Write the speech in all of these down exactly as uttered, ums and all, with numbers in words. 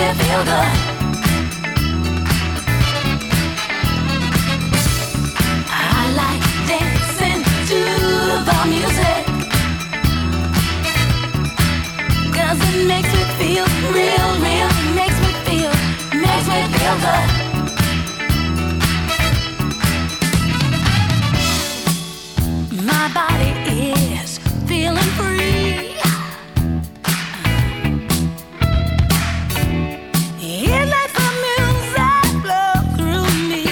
feel good. I like dancing to the music, 'cause it makes me feel real, real. It makes me feel, makes me feel good. My body is feeling free. It lets the music flow through me.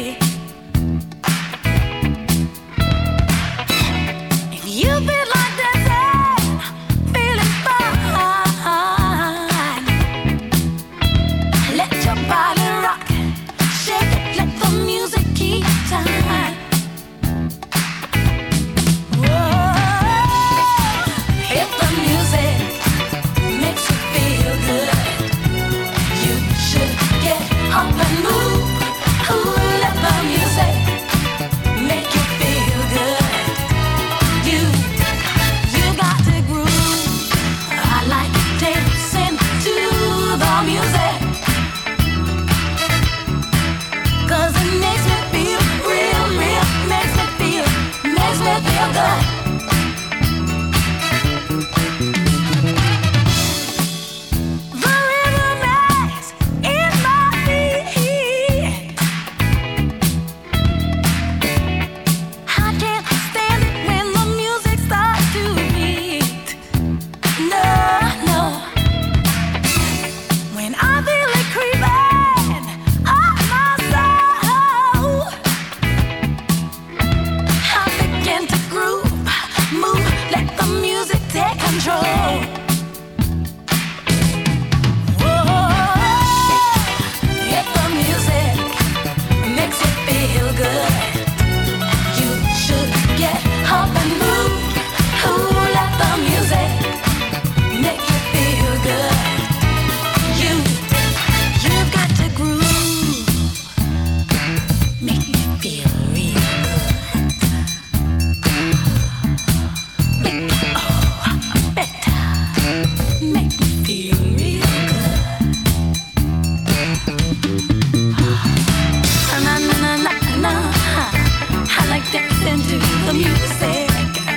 If you feel like dancing, feeling fine, let your body rock, shake it, let the music keep time. If the music makes you feel good, you should get up and move. Ooh, let the music make you feel good. You, you got to groove. I like dancing to the music, 'cause it makes me feel real, real. Makes me feel, makes me feel good. The rhythm is in my feet. I can't stand it when the music starts to beat. No, no. When I feel it creeping up my soul, I begin to groove, move, let the music take control. If the music makes you feel good, you should get up and move. Ooh, let the music make you feel good. You, you've got to groove, make me feel real good. Make it all better, make me feel real good. Na na na na na. I like dancing to the music.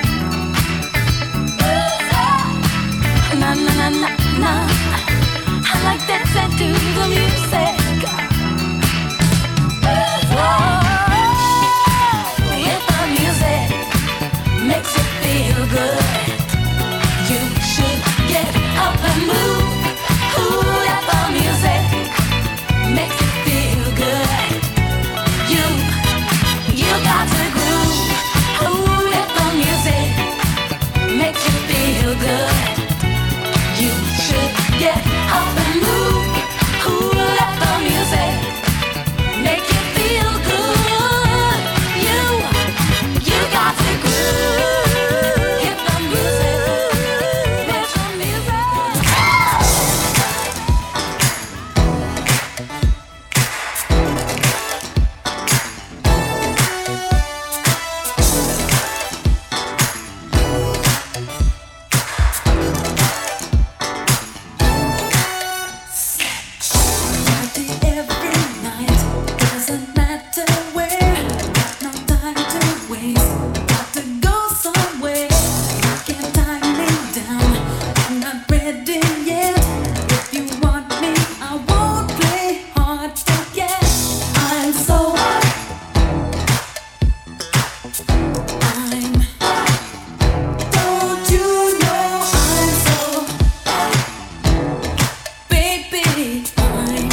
Na na na na na. I like dancing to the music. If the music makes you feel good, you should get up and move. Ooh, let the music makes you feel good. You, you got to groove. Ooh, let the music makes you feel good. You should get up and move. Ooh, let the music make you feel good. You, you got to groove. If the music makes the music. Every night, doesn't matter where, no time to waste, got to go somewhere. Can't tie me down, I'm not ready yet. If you want me, I won't play hard to get. I'm so I'm don't you know I'm so baby, I'm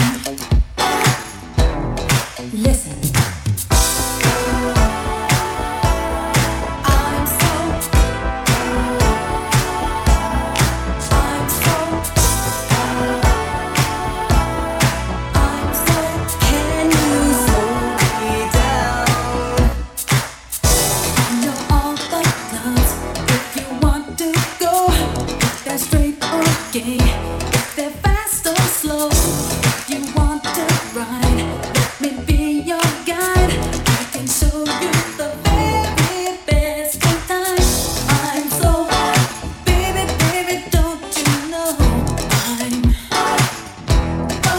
listen. I'm so I'm so I'm so can you slow me down? I know all the clubs. If you want to go, if they're straight or gay, if they're fast or slow, if you want to ride, let me be your guide. I can show you the very best of time. I'm so baby, baby, don't you know I'm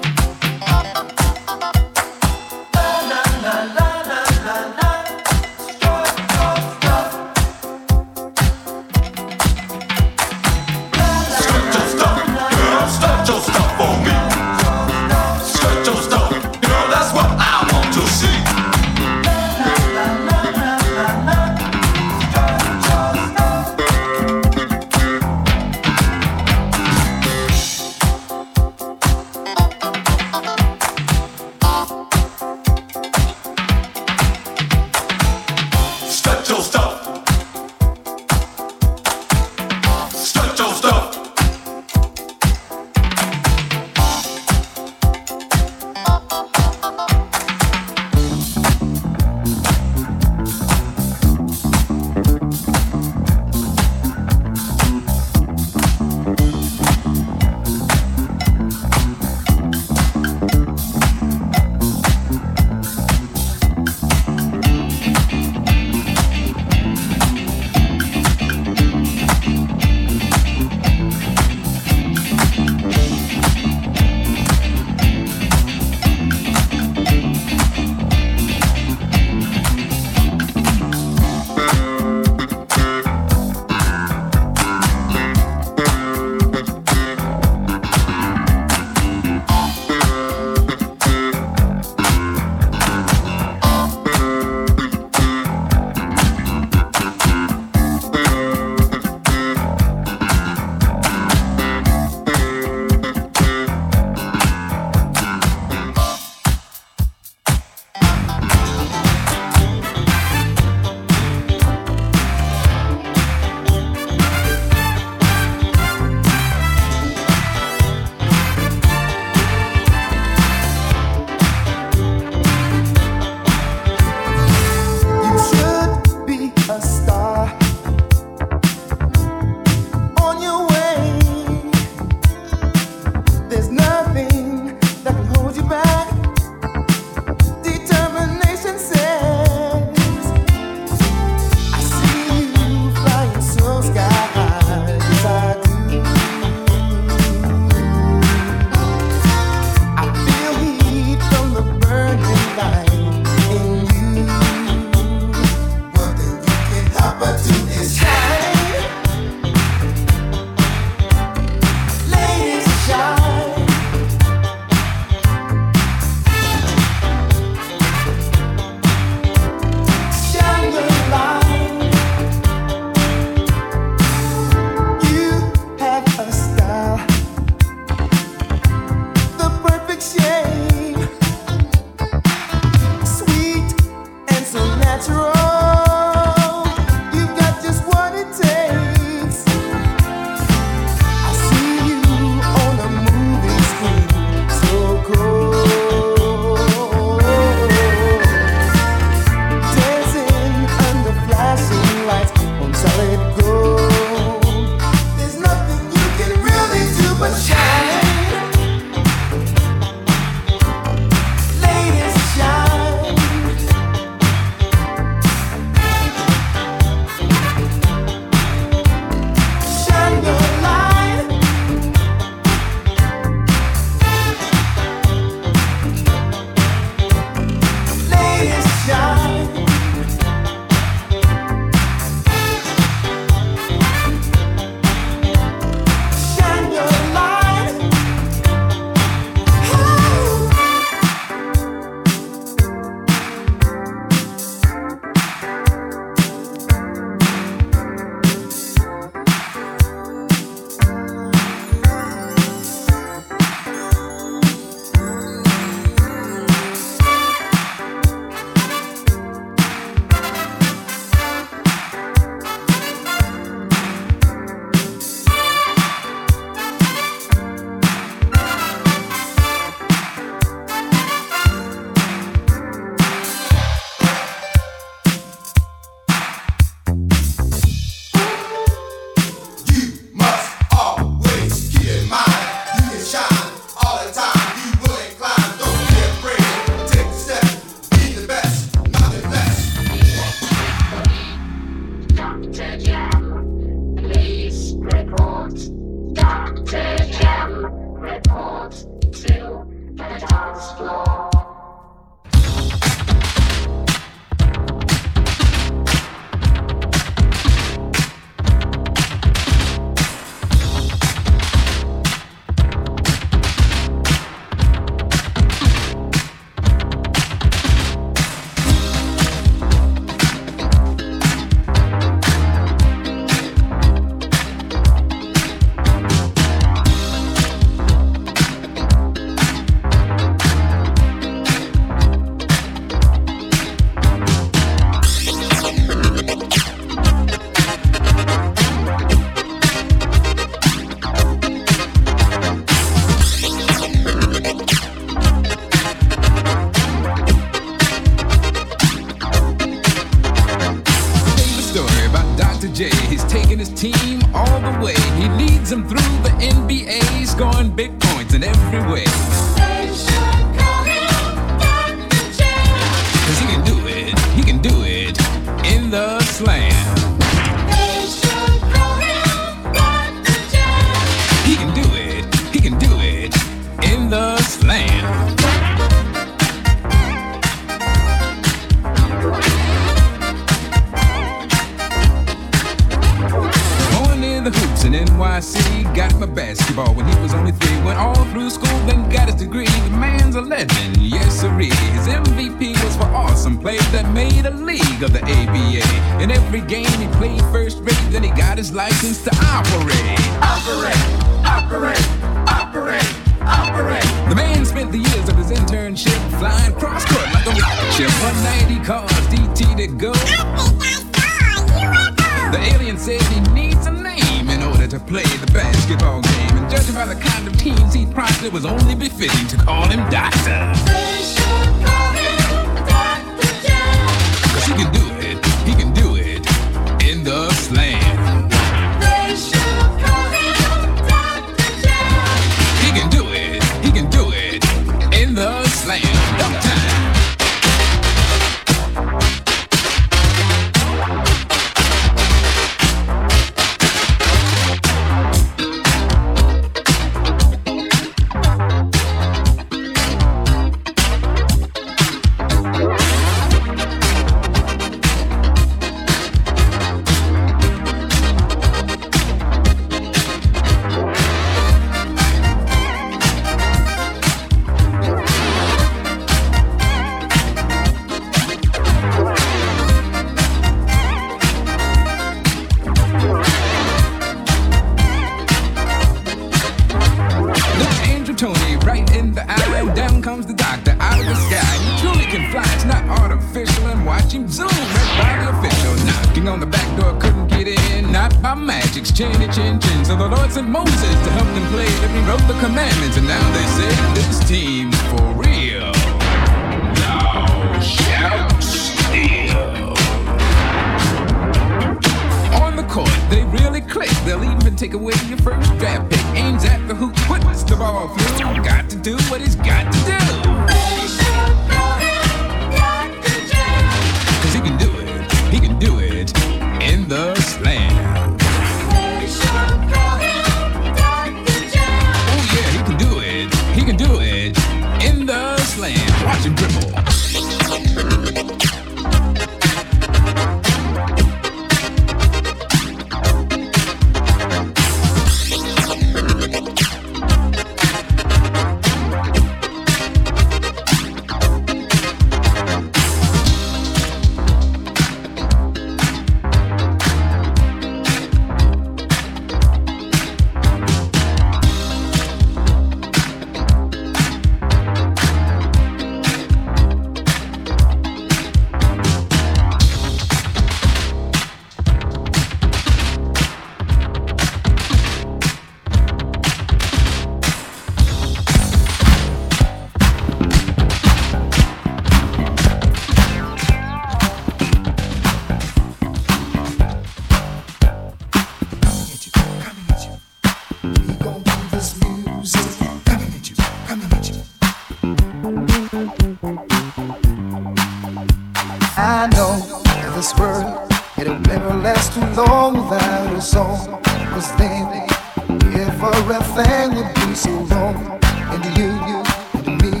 I know that this world, it'll never last too long without a song. Cause then, if everything would be so wrong, and you, you, and me, we would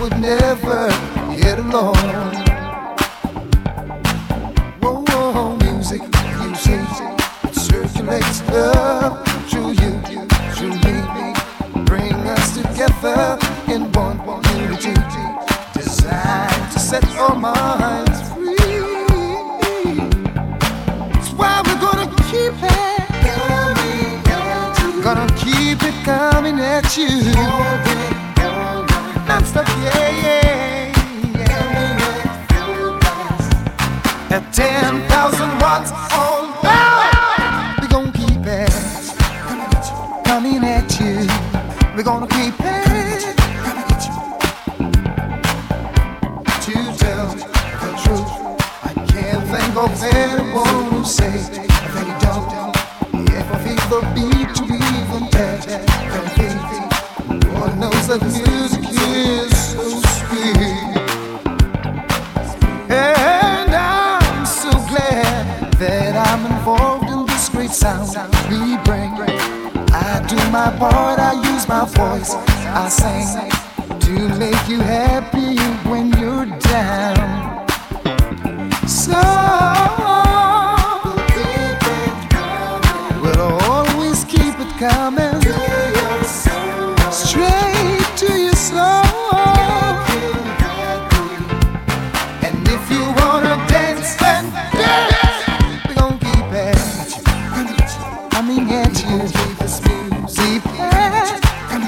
would never get along. Whoa, whoa, music, you say, it circulates love through you, through me, bring us together in one unity, designed to set our minds free. That's why we're gonna keep it coming at you. Gonna keep it coming at you. Non-stop, yeah, yeah, yeah. At ten thousand watts on power, we're gonna keep it coming at you. We're gonna keep it to tell the truth. I can't think of anyone who say they don't. If I feel the beat to even touch that beat, Lord knows that music is so sweet. And I'm so glad that I'm involved in this great sound we bring. I do my part, I use my voice, I sing to make you happy when you're down. So we'll always keep it coming straight to your soul. And if you wanna dance, then dance. We're gonna keep it coming at you. Deep head.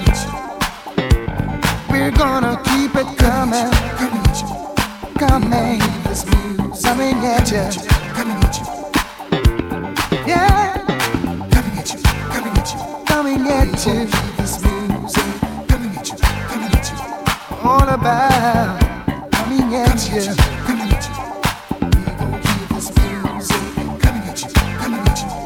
We're gonna keep it coming, coming, coming at you. Yeah, coming at you, coming at you, coming at you. All about coming at you. Coming at you. We're gonna keep this music coming at you, coming at you.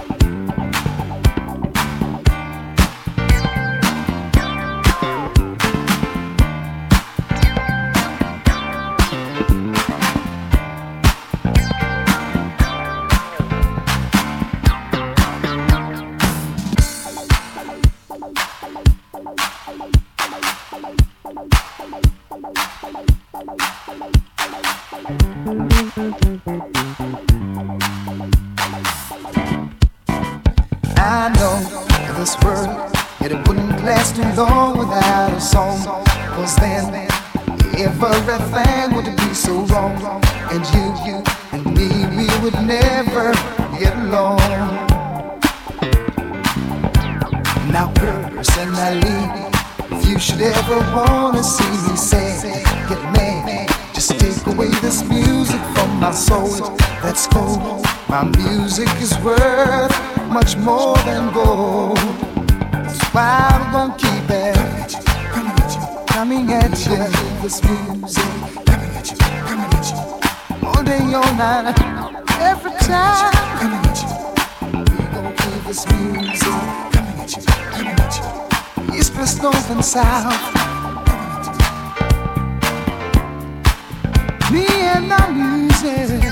I know this world, it wouldn't last too long without a song. Cause then everything would be so wrong. And you, you and me, we would never get along. Now personally, if you should ever wanna see me say, get mad, just take away this music from my soul. That's cool. My music is worth much more than gold. That's why I'm gonna keep it coming at you. This music coming at you, coming at you. All day, all night, every time. Coming at you. We're gonna keep this music coming at you, coming at you. East, west, north, and south. Me and my music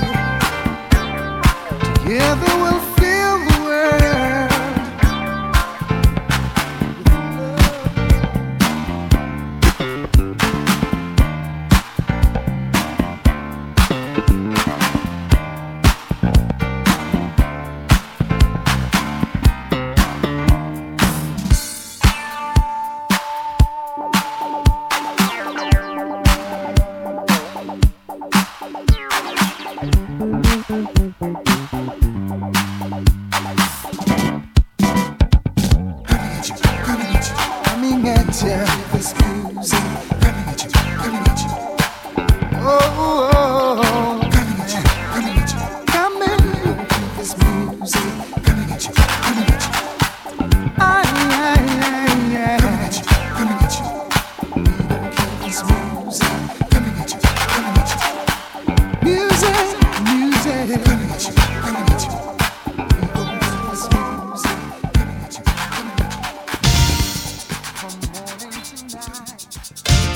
together we'll fill the world. Coming at you, this music. Coming at you, coming at you. Oh, oh, oh. Coming at you, coming at you. Coming, this music. Coming at you, coming at you. Ay, ay, ay, ay. Coming at you, coming at you. This music. Coming at you, coming at you. Music, music. Coming at you, coming at you. This music. Coming at you, coming at you. From morning to night.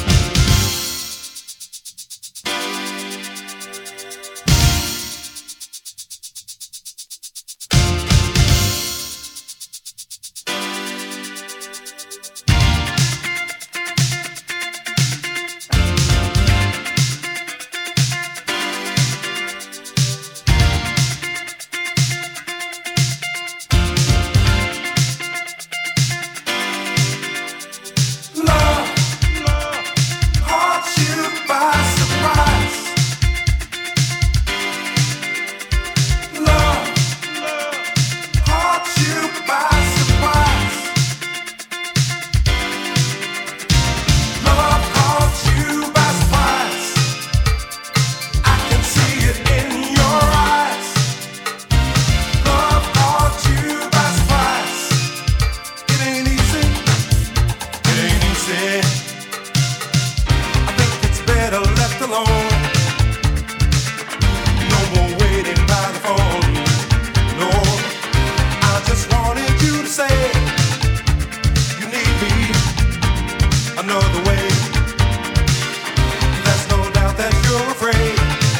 another way. There's no doubt that you're afraid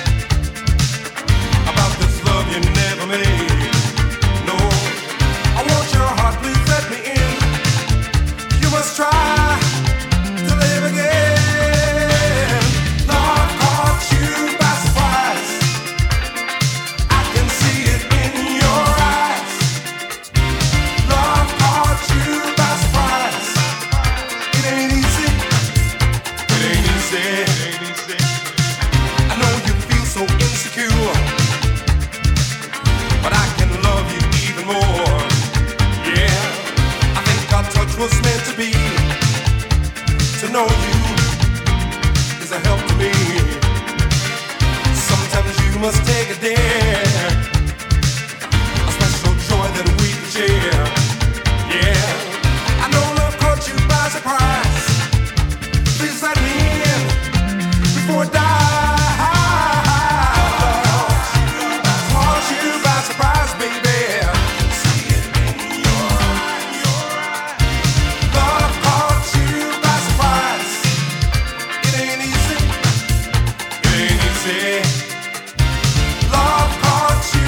about this love you never made. No, I want your heart, please let me in. You must try to live again. Love caught you by surprise. I can see it in your eyes. Love caught you by surprise. It ain't easy. It ain't easy. I know you feel so insecure, but I can love you even more. Yeah, I think our touch was meant to be. To know you is a help to me. Sometimes you must take a dare, a special joy that we can share. Yeah, I know love caught you by surprise. Please let me in before I die. Caught you by surprise, baby. See it in your eyes. Love caught you by surprise. It ain't easy. It ain't easy. Love caught you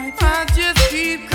I just keep